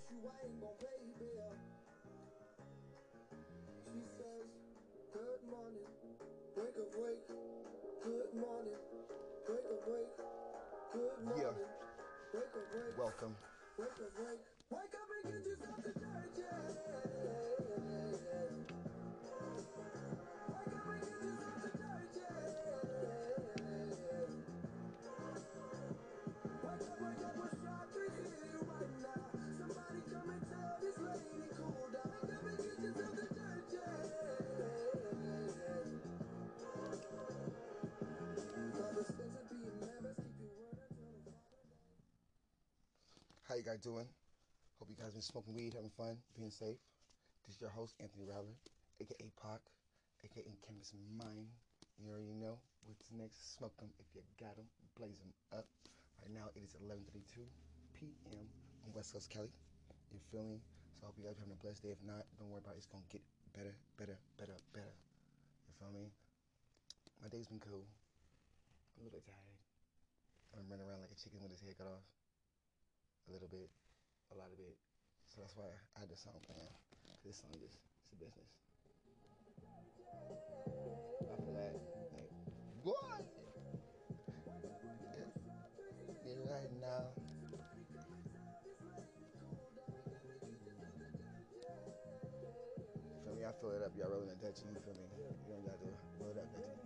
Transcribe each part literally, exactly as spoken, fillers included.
you, I ain't gon' pay bill. She says, good morning, wake up, wake. Good morning, wake up, wake. Good morning, Yeah. wake up, wake. Welcome. Wake up, wake. Wake up and get yourself to church, yeah. Wake up and get yourself to church, yeah. Wake up, wake up, what's trying to hear you right now? Somebody come and tell this lady cool down. Wake up and get yourself to church, yeah. Father says to be members, keep your word until the Father. How you guys doing? Hope you guys been smoking weed, having fun, being safe. This is your host, Anthony Rowler, aka Pac, aka Canvas Mind. You already know what's next. Smoke them if you got them. Blaze them up. Right now it is eleven thirty-two p.m. on West Coast Cali. You feel me? So I hope you guys are having a blessed day. If not, don't worry about it. It's going to get better, better, better, better. You feel me? My day's been cool. I'm a little bit tired. I'm running around like a chicken with his head cut off. A little bit. A lot of it. So that's why I had this song playing. Cause this song is it's a business. After that, like, what? Yeah, yeah, right now. You feel me? I fill it up. Y'all rolling a Dutchie. You feel me? You don't got to roll it up, Dutchie.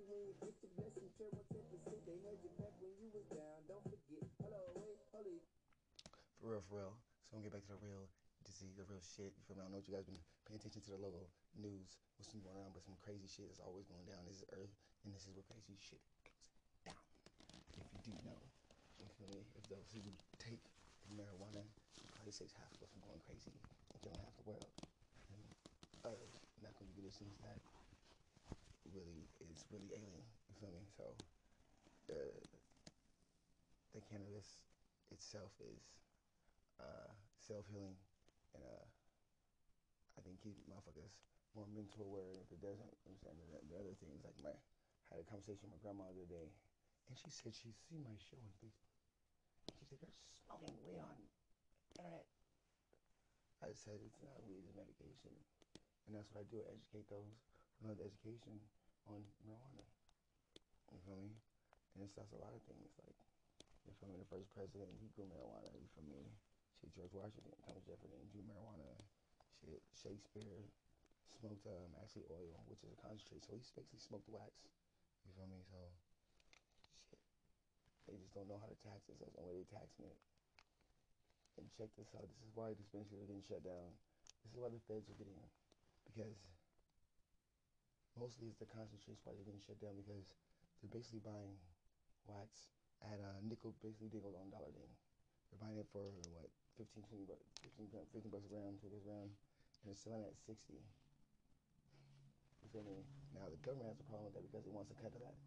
For real, for real. So I'm gonna get back to the real disease, the real shit. You feel me? I don't know what you guys been paying attention to the local news, what's been going on, but some crazy shit is always going down. This is Earth, and this is where crazy shit goes down. If you do know, you feel me? If those who take marijuana, you probably save half of us from going crazy and killing half the world. And others not gonna do the things that really is really alien. You feel me? So uh, the cannabis itself is uh, self-healing, and uh, I think keep motherfuckers more mental aware. If it doesn't, I'm saying the, the other things, like my I had a conversation with my grandma the other day, and she said she seen my show on Facebook. She said, "You're smoking weed on internet." I said, "It's not weed, it's medication," and that's what I do. I educate those who know the education on marijuana. You feel me? And it's that's a lot of things. Like, you feel me? The first president, he grew marijuana. You feel me? Shit, George Washington, Thomas Jefferson, drew marijuana. Shit, Shakespeare smoked um, actually oil, which is a concentrate. So he basically smoked wax. You feel me? So, shit. They just don't know how to tax it. So that's the way they're taxing it. And check this out. This is why dispensaries are getting shut down. This is why the feds are getting, because mostly it's the concentrates why they're getting shut down, because they're basically buying wax at a nickel, basically nickel on dollar thing. They're buying it for what, fifteen, twenty bucks, fifteen, fifteen bucks a gram, twenty bucks a gram, and they're selling it at sixty. You feel me? Now the government has a problem with that because it wants to cut that.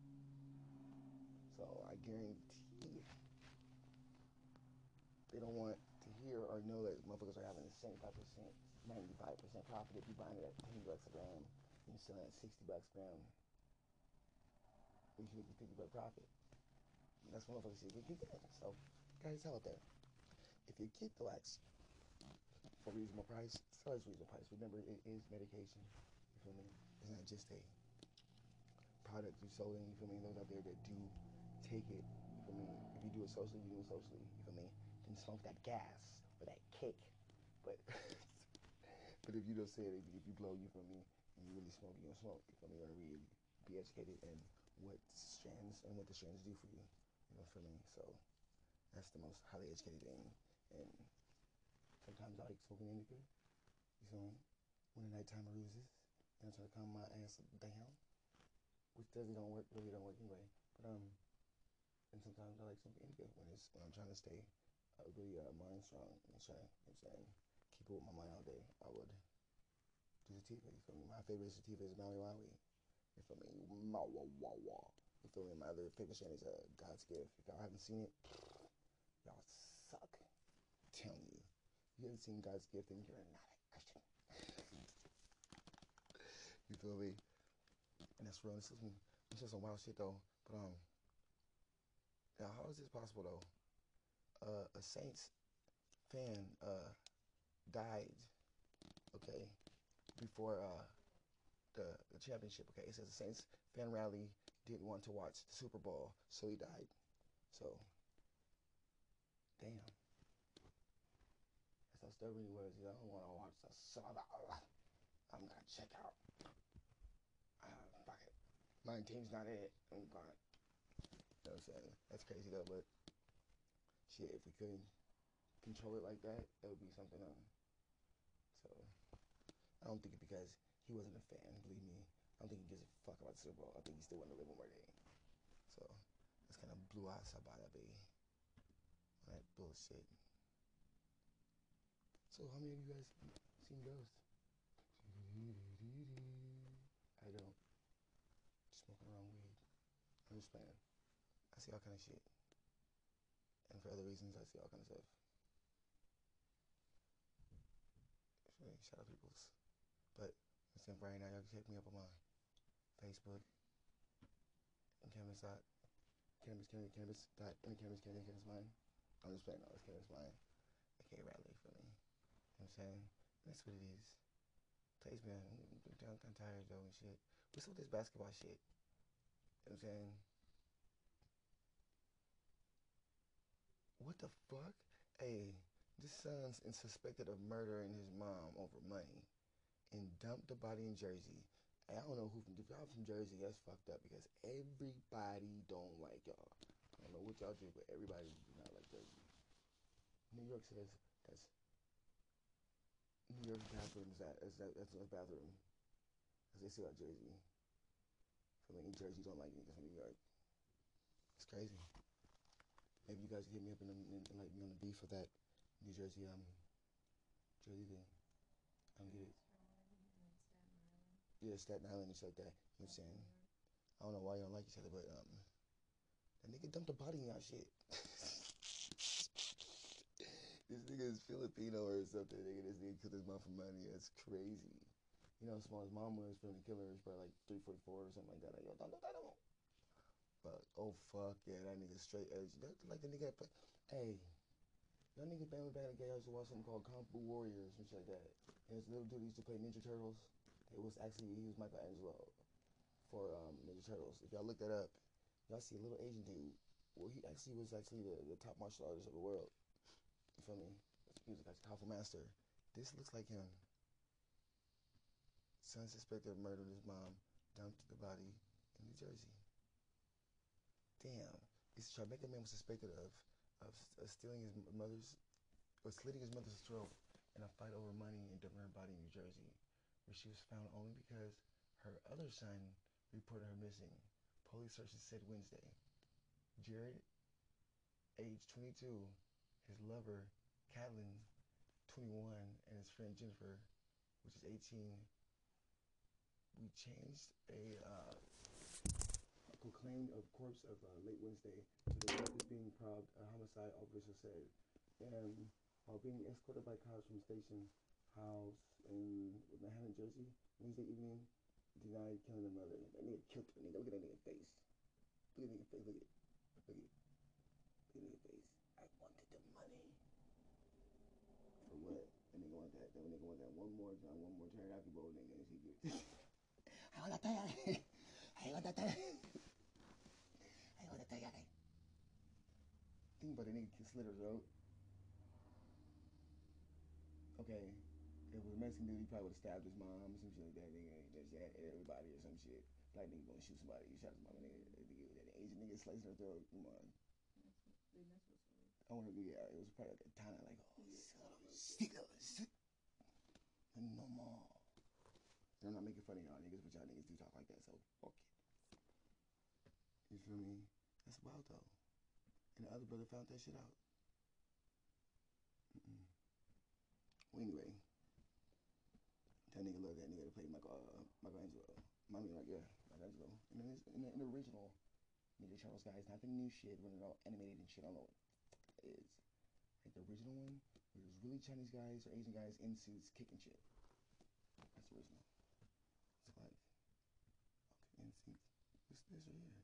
So I guarantee they don't want to hear or know that motherfuckers are having a seventy-five percent, ninety-five percent profit if you buying it at ten bucks a gram and you're selling it at sixty bucks a gram. You should make a fifty buck profit. And that's what motherfuckers should get kicked in. So, guys, tell it there. If you get the wax for a reasonable price, sell it at a reasonable price. Remember, it is medication. You feel me? It's not just a product you sold in. You feel me? Those out there that do take it. You feel me? If you do it socially, you do it socially. You feel me? Then smoke that gas or that kick. But but if you don't say it, if you blow, you feel me? And you really smoke, you don't smoke. You feel me? You want to really be educated in what strands and what the strands do for you. You know, feel me? So that's the most highly educated thing. And sometimes I like smoking indica. You feel me? When the nighttime arouses, and I'm trying to calm my ass down, which doesn't don't work, really don't work anyway. But um, and sometimes I like smoking indica when it's when I'm trying to stay uh, really uh, mind strong and trying, you know what I'm saying, keep it with my mind all day. I would do sativa. You feel me? My favorite sativa is Maui Wowie. You feel me? Maui Wawa. You feel me? My other favorite strain is uh, God's Gift. If y'all haven't seen it, y'all suck. I'm telling you. If you haven't seen God's Gift, then you're not a Christian. You feel me? And that's real. This is some, this is some wild shit though. But um, now how is this possible though? Uh, a saint's fan uh, died, okay, before uh, the, the championship, okay? It says the Saints fan rally didn't want to watch the Super Bowl, so he died. So, damn. That's how stubborn he was. He don't want to watch the Super Bowl. I'm gonna check out. Uh, fuck it. My team's not it. I'm gone. You know what I'm saying? That's crazy though, but shit, if we couldn't control it like that, that would be something else. So, I don't think it because he wasn't a fan, believe me. I don't think he gives a fuck about the Super Bowl. I think he still wanted to live one more day. So, that's kind of blue eyes sabada, baby. That bullshit. So, how many of you guys seen Ghost? I don't. Smoking around weed. I'm just playing. I see all kind of shit. And for other reasons, I see all kind of stuff. Really, shout out peoples. But instead of right now, y'all can check me up on my Facebook and cannabis dot cannabis cannabis cannabis dot any cannabis cannabis cannabis mine. I'm just playing all this cannabis mine. Okay, Riley for me. You know what I'm saying? That's what it is. Plays man, I'm kind of tired though and shit. What's up with this basketball shit? You know what I'm saying? What the fuck? Hey, this son's suspected of murdering his mom over money and dumped the body in Jersey. I don't know who from, if y'all from Jersey, that's fucked up because everybody don't like y'all. I don't know what y'all do, but everybody do not like Jersey. New York says that's New York's bathroom is that is that that's a bathroom. As they say about Jersey. So like in Jersey don't like niggas from New York. It's crazy. Maybe you guys can hit me up and, and, and like me on the beef for that New Jersey um Jersey thing. I don't get it. Yeah, Staten Island and shit like that. You know what I'm saying? I don't know why you don't like each other, but um, that nigga dumped a body in y'all shit. This nigga is Filipino or something. Nigga, this nigga killed his mom for money. That's crazy. You know how small his mom was for him to kill her? It's probably like three forty-four or something like that. Like, yo, don't do that no more. But, oh, fuck, yeah, that nigga straight edge. That, like the nigga that play. Hey, y'all niggas band with bad guy used to watch something called Kung Fu Warriors and shit like that. And this little dude used to play Ninja Turtles. It was actually, he was Michelangelo for um, Ninja Turtles. If y'all look that up, y'all see a little Asian dude. Well, he actually was actually the, the top martial artist of the world. You feel me? He was like a powerful master. This looks like him. Son suspected of murdering his mom, dumped the body in New Jersey. Damn. This Tribeca man was suspected of, of of stealing his mother's, or slitting his mother's throat in a fight over money and dumping her body in New Jersey, where she was found only because her other son reported her missing. Police sources said Wednesday. Jared, age twenty-two, his lover, Catlin, twenty-one, and his friend Jennifer, which is eighteen, we changed a uh, proclaimed a corpse of uh, late Wednesday to the corpse being probed, a homicide officer said. And while being escorted by cops from station house in Manhattan, Jersey, Wednesday evening, denied killing the mother. That nigga killed her. Nigga, look at that nigga face. Look at that nigga face. Look at it. Look at it. Look at that face. I wanted the money. For what? That nigga want that. That nigga want that one more John, one more teriyaki bowl, nigga. And she good. I want that teriyaki. I want that teriyaki. I want that teriyaki. Think about the nigga slit her throat. Okay. If it was a Mexican dude, he probably would have stabbed his mom or some shit like that. Nigga, just had everybody or some shit. Black nigga gonna shoot somebody. You shot his mom, nigga. That Asian nigga slicing her throat. Come on. I want to be. Uh, it was probably like a time like, oh, shit, shit. No more. And I'm not making fun of y'all niggas, but y'all niggas do talk like that, so fuck it. You feel me? That's wild though. And the other brother found that shit out. Mm-mm. Well, anyway, that nigga loved that nigga to play Michael, uh, Michelangelo. I mean, like, yeah, Michelangelo. And in, this, in, the, in the original Ninja Turtles, guys, not the new shit when it's all animated and shit. I don't know what it is. Like the original one, where there's really Chinese guys or Asian guys in suits kicking shit. That's the original. It's like, okay, in sync. What's this right here?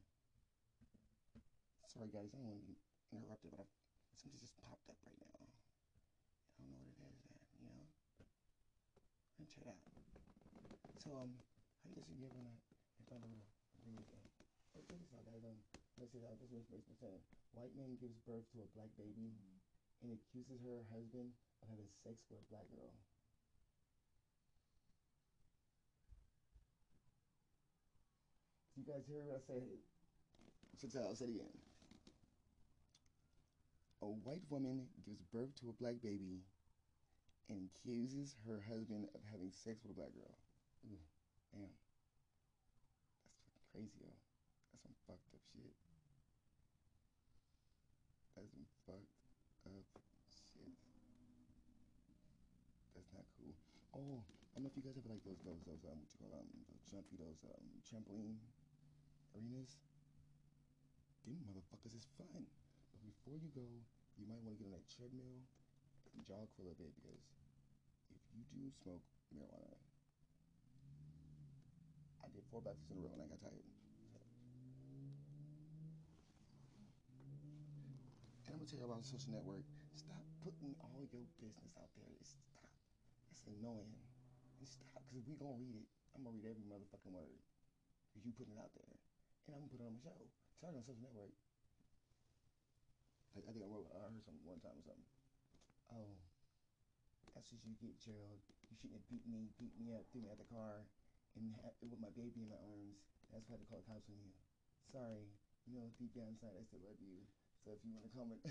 Sorry, guys, I don't want to be interrupted, but I, something just popped up right now. Look at that. So, um, how do you guys you ever not find a little bring this in? Oh, check this out, guys. Um, let's see, uh, this is information percent. White man gives birth to a black baby and accuses her husband of having sex with a black girl. You guys hear what I said? Check this out, I'll say it again. A white woman gives birth to a black baby and accuses her husband of having sex with a black girl. Ooh, damn. That's fucking crazy, yo. That's some fucked up shit. That's some fucked up shit. That's not cool. Oh, I don't know if you guys ever like those, those, those, um, what you call them, those jumpy, those, um, trampoline arenas. Them motherfuckers is fun. But before you go, you might want to get on that treadmill and jog for a little bit, because if you do smoke marijuana, I did four baskets in a row and I got tired. So. And I'm gonna tell you about the social network. Stop putting all your business out there. Stop. That's annoying. And stop, because we gonna read it. I'm gonna read every motherfucking word. Because you putting it out there. And I'm gonna put it on my show. Sorry, on social network. I, I think I wrote, I heard something one time or something. Oh, that's what you get, Gerald. You shouldn't have beat me, beat me up, threw me out the car, and ha- with my baby in my arms. That's why I had to call the cops on you. Sorry, you know, deep down inside, I still love you. So if you want to come and...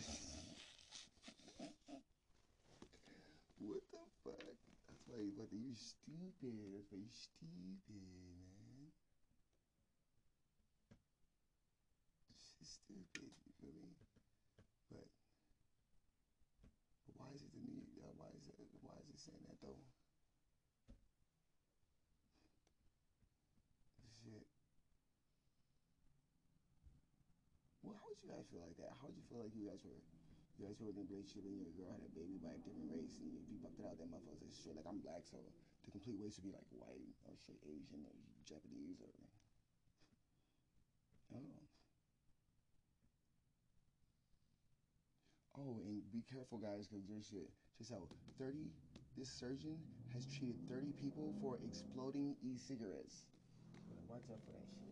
What the fuck? That's why you, what, you stupid. That's why you stupid, man. She's stupid, you feel me? But, but why is it the new, uh, why is it, why is it saying that though? Shit. Well, how would you guys feel like that? How would you feel like you guys were, you guys were in a relationship and your girl had a baby by a different race, and if you bucked it out, that motherfucker said straight, like, I'm black, so the complete ways to be like white or straight Asian or Japanese or, oh. Oh, and be careful, guys, because there's shit. Check this out. thirty, this surgeon has treated thirty people for exploding e-cigarettes. Watch out for that shit.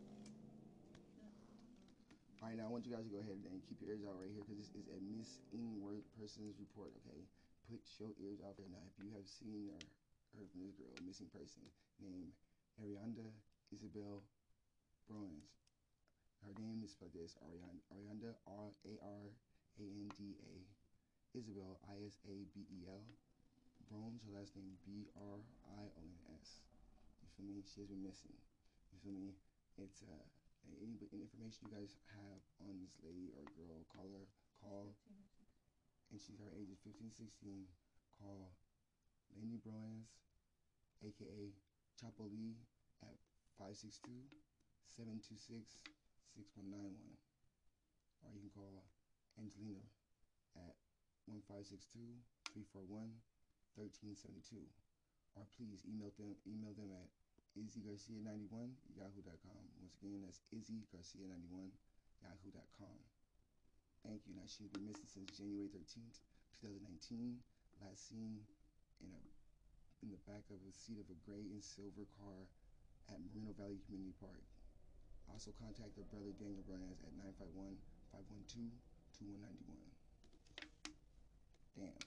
All right, now I want you guys to go ahead and keep your ears out right here, because this is a missing persons report, okay? Put your ears out there. Now, if you have seen or heard from this girl, a missing person, named Arianda Isabel Bruins. Her name is spelled this, Arianda, Arianda R A R A N D A, Isabel, I S A B E L, Brones, her last name B R I O N S. You feel me? She has been missing. You feel me? It's, uh, any, any information you guys have on this lady or girl, call her, call, and she's, her age is fifteen, sixteen, call Lainey Brones, a k a. Chapo Lee, at five six two, seven two six, six one nine one. Or you can call Angelina at one five six two, three four one, one three seven two. Or please email them email them at izzy garcia ninety-one yahoo dot com. Once again, that's izzy garcia ninety-one yahoo dot com. Thank you. Now, she's been missing since January thirteenth, twenty nineteen. Last seen in a in the back of a seat of a gray and silver car at Moreno Valley Community Park. Also contact her brother Daniel Brones at nine five one, five one two, two one nine one. Damn.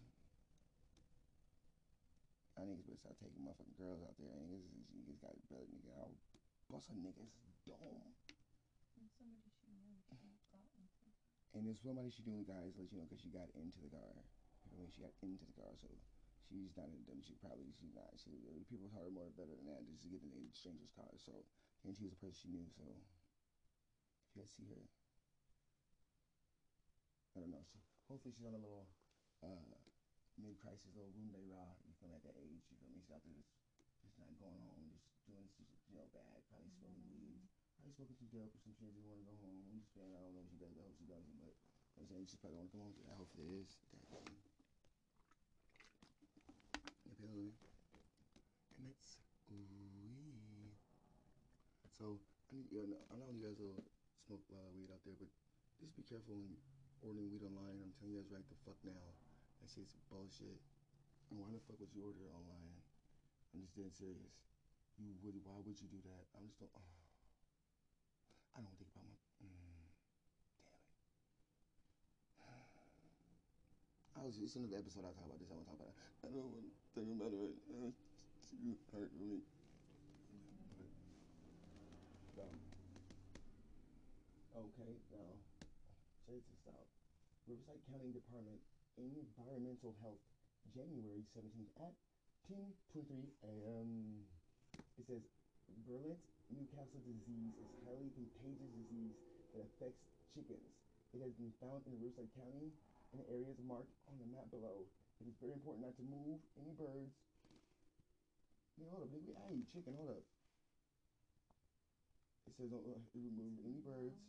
I niggas better start taking motherfucking girls out there. Niggas, niggas got brother nigga. I'll bust a nigga's dome. And somebody she knew she got into. And there's somebody she knew, guys, let you know, because she got into the car. You know, she got into the car, so she's not in them. She probably, she's not. She, people taught her more better than that, just to get in a stranger's car. So, and she was a person she knew, so if you guys see her, I don't know. She, hopefully she's on a little uh, mid-crisis, little Roomba raw. You feel me, at that age? You feel me? She's out there just, just not going home, just doing, you know, bad. Probably smoking weed. Probably smoking some dope or some shit. Just want to go home. I'm just saying, I don't know if she does. I hope she doesn't, but I'm saying she probably want to come home. I hope it is. You feel me? And that's weed. So I need, you know, I know you guys will smoke a lot of weed out there, but just be careful when ordering weed online. I'm telling you guys right the fuck now. That shit's bullshit. And why the fuck would you order it online? I I'm just dead serious. You would, why would you do that? I'm just don't, oh. I don't think about my, mm, damn it. I was, it's another episode I'll talk about this, I won't talk about it. I don't want to think about it, it's too hurt for me. But, um, okay, now, check this out. Riverside County Department Environmental Health, January seventeenth at ten twenty-three a m It says, virulent Newcastle disease is a highly contagious disease that affects chickens. It has been found in Riverside County in areas marked on the map below. It is very important not to move any birds. Man, hold up, nigga. Hey, chicken, hold up. It says don't uh, remove any birds.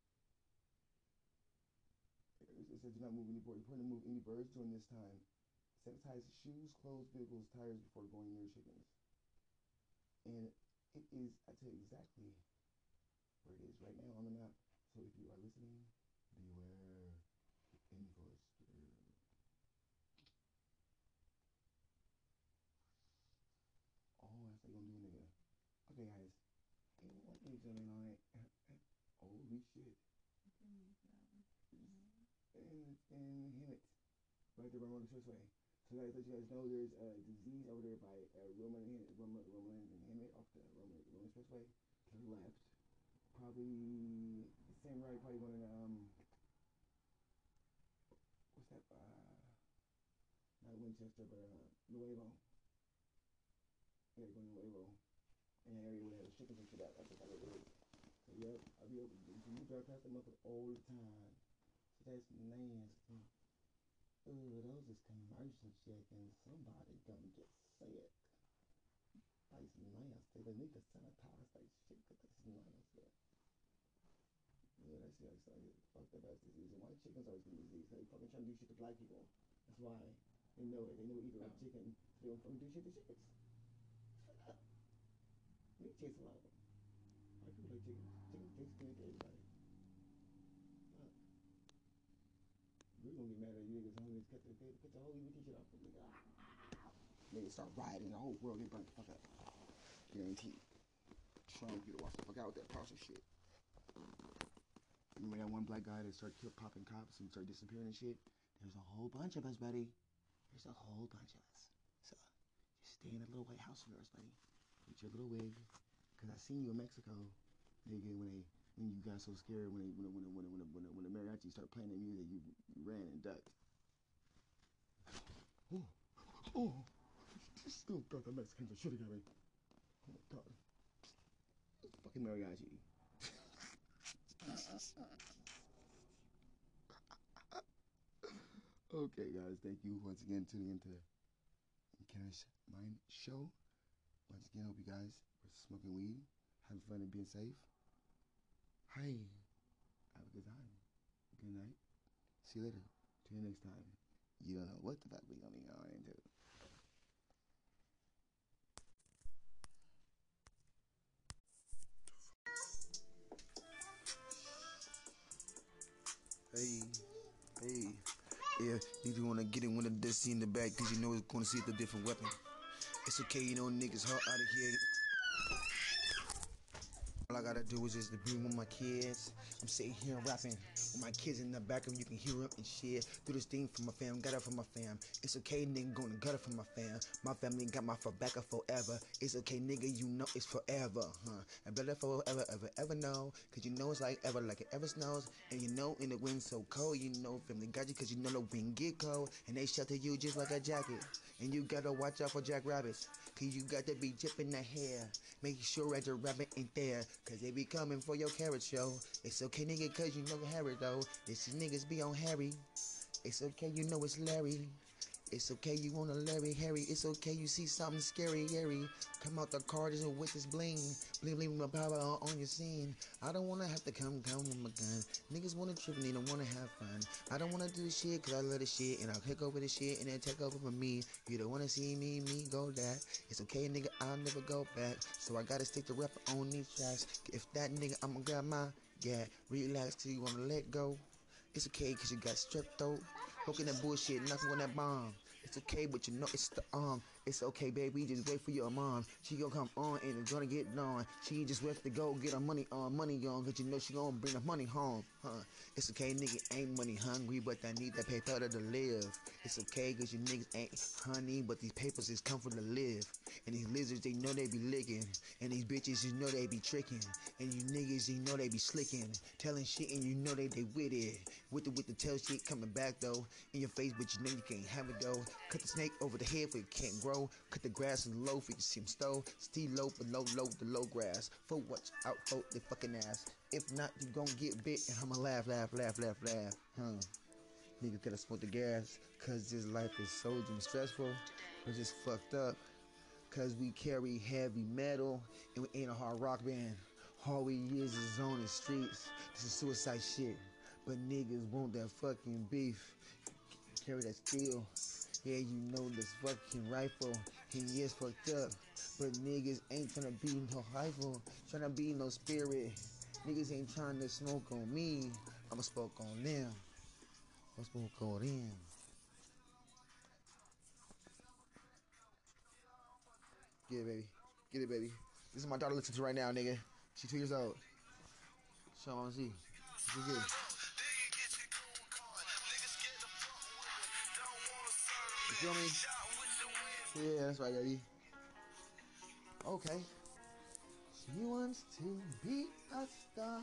It says do not move any birds. It's important to move any birds during this time. Sanitize shoes, clothes, vehicles, tires before going near chickens. And it is, I tell you exactly where it is right now on the map. So if you are listening, beware the enforcer. Oh, that's what you're gonna do, nigga. Okay, guys. Ain't one thing something on it. Holy shit. And, and Hemet, right there by Roman Expressway. So guys, let you guys know there's a disease over there by uh, Roman, Roman, Roman and Hemet off the Roman, Roman Expressway to the left. Probably the same right, probably going to um, what's that? Uh, not Winchester, but uh, Nuevo. Yeah, going to Nuevo. In an area where they have chickens and shit out. That's what it is. So yep, I'll be able to. You drive past them up all the time. So that's nasty. Ooh, those is commercial chickens. Somebody gonna get sick. That's nasty. They need to sanitize that shit because that's nasty. Yeah, that's the like, like, fucked up ass disease. And why chickens always get disease? They fucking trying to do shit to black people. That's why. They know it. They know eat a lot of chicken. So they don't fucking do shit to chickens. Shut up. We chase a lot of them. White people like chickens. Chicken tastes good to everybody. Fuck. We're gonna get mad at you niggas. Homies cut the, cut the whole E B T shit off. Nigga. Niggas start rioting. The whole world get burnt the fuck up. Guaranteed. Trump, you to watch the fuck out with that partial shit. Remember that one black guy that started kill, popping cops and started disappearing and shit? There's a whole bunch of us, buddy. There's a whole bunch of us. So, just stay in that little White House of yours, buddy. With your little wig. Because I seen you in Mexico, nigga, when they, when you got so scared when they, when when when when when, when the mariachi started playing that music, you, you ran and ducked. Oh, oh, still got the Mexicans are shooting at me. Oh my god. It's fucking mariachi. Okay, guys, thank you once again tuning into the Cash Mind Show. Once again, hope you guys are smoking weed, having fun and being safe. Hi, have a good time. Good night. See you later. Till you next time. You don't know what the fuck we gonna be going into. Hey, hey, yeah, you do wanna get it when the dusty in the back, cause you know it's gonna see the different weapon. It's okay, you know niggas hot out of here. All I gotta do is just to be with my kids. I'm sitting here rapping with my kids in the back of you can hear them and shit. Do this thing for my fam, got it for my fam. It's okay, nigga, gonna gut it for my fam. My family got my back up forever. It's okay, nigga, you know it's forever, huh? And better forever, ever, ever know. Cause you know it's like ever, like it ever snows. And you know in the wind so cold, you know family got you cause you know the wind get cold. And they shelter you just like a jacket. And you gotta watch out for jackrabbits. Cause you got to be jipping the hair. Make sure that your rabbit ain't there. Cause they be coming for your carrot show. It's okay, nigga, cause you know Harry though. This niggas be on Harry. It's okay, you know it's Larry. It's okay, you wanna Larry Harry. It's okay, you see something scary, Harry. Come out the car just with this bling. Bling, bling, my power on your scene. I don't wanna have to come, come with my gun. Niggas wanna trip and they don't wanna have fun. I don't wanna do shit cause I love the shit. And I'll kick over the shit and then take over for me. You don't wanna see me, me go that. It's okay, nigga, I'll never go back. So I gotta stick to rapping on these tracks. If that nigga, I'ma grab my, yeah, relax till you wanna let go. It's okay cause you got strep throat. Poking that bullshit, knocking on that bomb. It's okay, but you know it's the arm. It's okay, baby, just wait for your mom. She gonna come on and it's gonna get on. She just have to go get her money on, money on, cause you know she gonna bring the money home, huh? It's okay, nigga ain't money hungry, but I need that paper to live. It's okay, cause you niggas ain't honey, but these papers is come for to live. And these lizards, they know they be licking. And these bitches, you know they be tricking. And you niggas, you know they be slicking. Telling shit and you know they they with it. With the with the tail shit coming back though. In your face, but you know you can't have it though. Cut the snake over the head for it can't grow. Cut the grass in low for you can see him stow. Still low below low the low grass. For watch out for the fucking ass. If not, you gon' get bit and I'ma laugh, laugh, laugh, laugh, laugh. Huh. Niggas gotta smoke the gas. Cause this life is so damn stressful. We're just fucked up. Cause we carry heavy metal and we ain't a hard rock band. All we is is on the streets. This is suicide shit. But niggas want that fucking beef. Carry that steel. Yeah, you know this fucking rifle. And yes, fucked up. But niggas ain't tryna be no rifle. Tryna be no spirit. Niggas ain't trying to smoke on me. I'ma smoke on them. I'ma smoke on them. Get it, baby. Get it, baby. This is my daughter listening to right now, nigga. She's two years old. Show her see. She good. You feel me? Yeah, that's right, baby. Okay. She wants to be a star.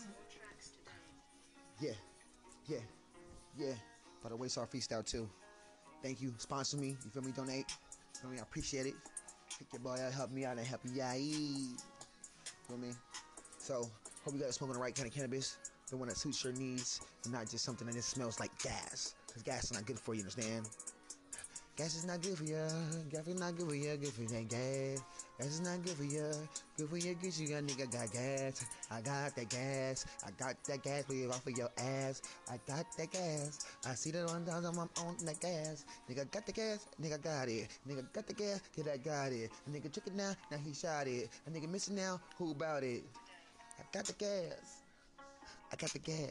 Yeah, yeah, yeah. By the way, it's our freestyle too. Thank you. Sponsor me. You feel me? Donate. You feel me? I appreciate it. Pick your boy out, help me out, and help you out. You feel me? So, hope you guys smoking the right kind of cannabis. The one that suits your needs, and not just something that just smells like gas. Because gas is not good for you, understand? Gas is not good for you. Gas is not good for you. Good for that gas. Gas is not good for you. Good for you. Good you got nigga got gas. I got that gas. I got that gas. Put it off of your ass. I got that gas. I see that one down on my on that gas. Nigga got the gas. Nigga got it. Nigga got the gas. Kid I got it. A nigga took it now. Now he shot it. A nigga missing now. Who about it? I got the gas. I got the gas.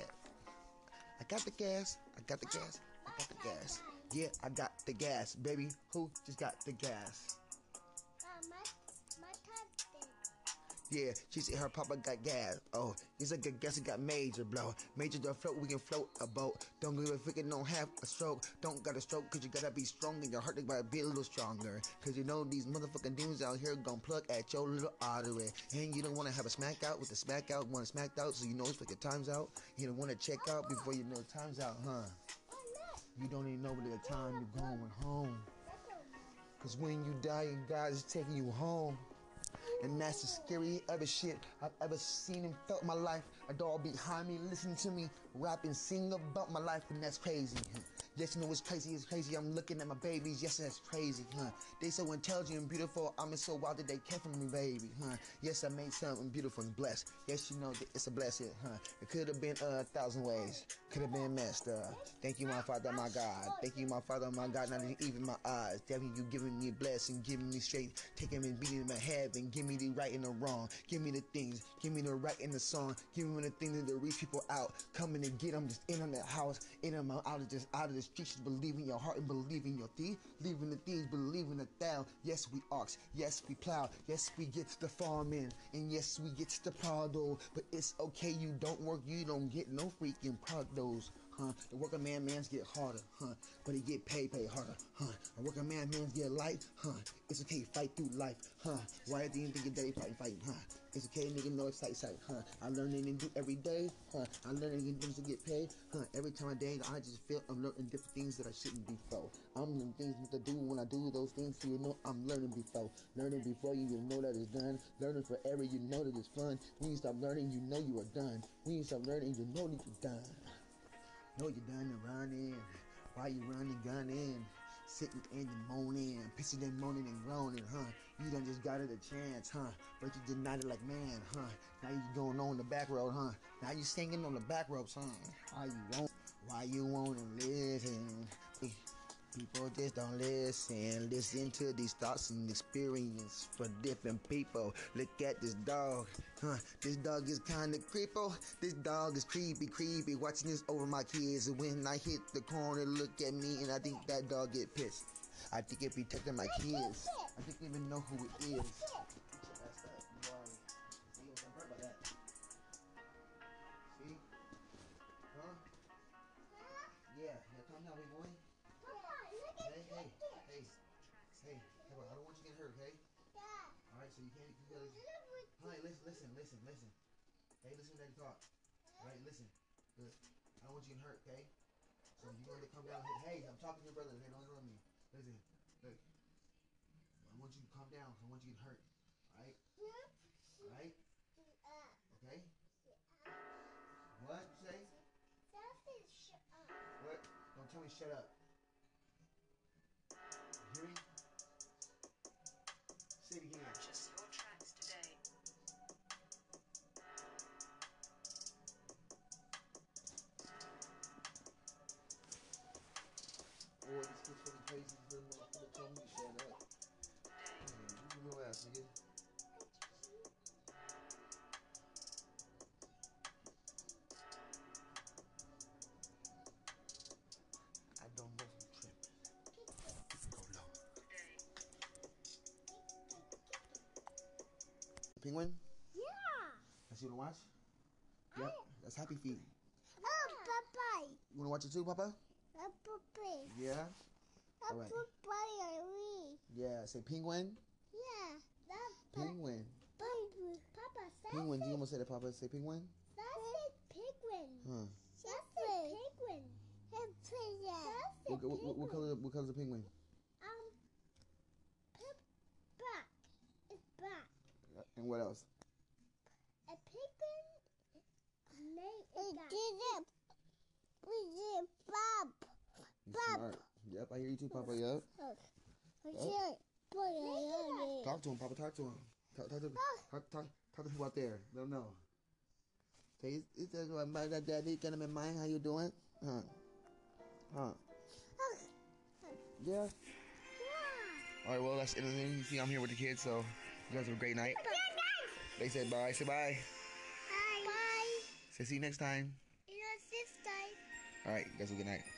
I got the gas. I got the gas. I got the gas. Yeah, I got the gas, baby. Who just got the gas? Uh, my, my cousin. Yeah, she said her papa got gas. Oh, he's like a gas, he got major blow. Major to float, we can float a boat. Don't give a freaking, don't have a stroke. Don't got a stroke, cause you gotta be strong and your heart gotta be a little stronger. Cause you know these motherfucking demons out here gon' plug at your little artery. And you don't wanna have a smack out with the smack out, wanna smack out so you know it's like your time's out. You don't wanna check out before you know time's out, huh? You don't even know what the time you're going home. Cause when you die, God is taking you home. And that's the scary other shit I've ever seen and felt in my life. A dog behind me listening to me rap and sing about my life, and that's crazy. Yes, you know it's crazy, it's crazy. I'm looking at my babies, yes, that's crazy, huh? They so intelligent and beautiful, I'm so wild that they came from me, baby, huh? Yes, I made something beautiful and blessed. Yes, you know that it's a blessing, huh? It could have been a thousand ways, could have been messed up. Thank you, my Father, my God. Thank you, my Father, my God. Not even my eyes. Thank you, giving me a blessing, giving me straight, taking me, beating in my head, and give me the right and the wrong. Give me the things, give me the right and the song. Give me the things that reach people out. Coming to get them, just in on that house, in them out of just out of the streets. Believe in your heart and believe in your thief. Leaving the thieves, believe in the thou. Yes, we ox. Yes, we plow. Yes, we get to the farm in. And yes, we get to the prado. But it's okay, you don't work, you don't get no freaking prados. Huh? The working man man's get harder, huh? But he get paid, pay harder, huh? The working man man's get light, huh? It's okay, fight through life, huh? Why do you think your day fighting, fighting, huh? It's okay, nigga, know it's sight, sight, huh? I learn it and do every day, huh? I learn it and things to get paid, huh? Every time I day, I just feel I'm learning different things that I shouldn't be for. I'm learning things what to do when I do those things, so you know I'm learning before. Learning before you, you know that it's done. Learning forever, you know that it's fun. When you stop learning, you know you are done. When you stop learning, you know that you're done. Know you're done and running. Why you running, gunning? Sitting in and moaning, pissing and moaning and groaning, huh? You done just got it a chance, huh? But you denied it like man, huh? Now you going on the back road, huh? Now you singing on the back road, huh? Why you won't? Why you wanna listen? People just don't listen. Listen to these thoughts and experience for different people. Look at this dog, huh? This dog is kinda creepo. This dog is creepy, creepy. Watching this over my kids. And when I hit the corner, look at me and I think that dog get pissed. I think it be protecting my kids. I think they even know who it is. That's that. You are. See, I'm hurt by that. See? Huh? Yeah. Yeah, calm down, big boy. Hey, hey, hey, hey. Come on, I don't want you to get hurt, okay? All right, so you can't. You gotta. Honey, listen, listen, listen, listen. Hey, listen to Daddy talk. All right, listen. Good. I don't want you to get hurt, okay? So you're going to come down. Hey, I'm talking to your brother. Hey, don't ignore me. Listen, look. I want you to calm down. I want you to get hurt. All right? All right? Okay? What you say? What? Don't tell me shut up. You hear me? Say it again. Purchase your tracks today. Boy, this kid's fucking crazy. This little motherfucker told me to shut up. Man, you know ass, nigga. I don't know if I'm tripping. Go low. Penguin? Yeah. That's you wanna watch? Yep. That's Happy Feet. Oh, Papa. You wanna watch it too, Papa? Oh, Papa. Yeah? Oh, All right. Papa. Yeah, say penguin. Yeah. That Penguin. Papa. Papa. Penguin. You almost said it, Papa. Say penguin. That's penguin. Huh. That's penguin. It's What, what, what, what color? What color's the penguin? Um, black. It's black. And what else? A penguin name is black. We did Bob. You Bob. smart. Yep, I hear you too, Papa. Yep. Yep. Talk to him, Papa. Talk to him. Talk, talk to talk, talk, talk to people out there. Let them know. Say, it's just my daddy. Can I mind how you doing? Huh? Huh? Yeah. All right. Well, that's it. You see, I'm here with the kids, so you guys have a great night. They said bye. Say bye. Bye. Bye. Say see you next time. You know, sister. All right. You guys have a good night.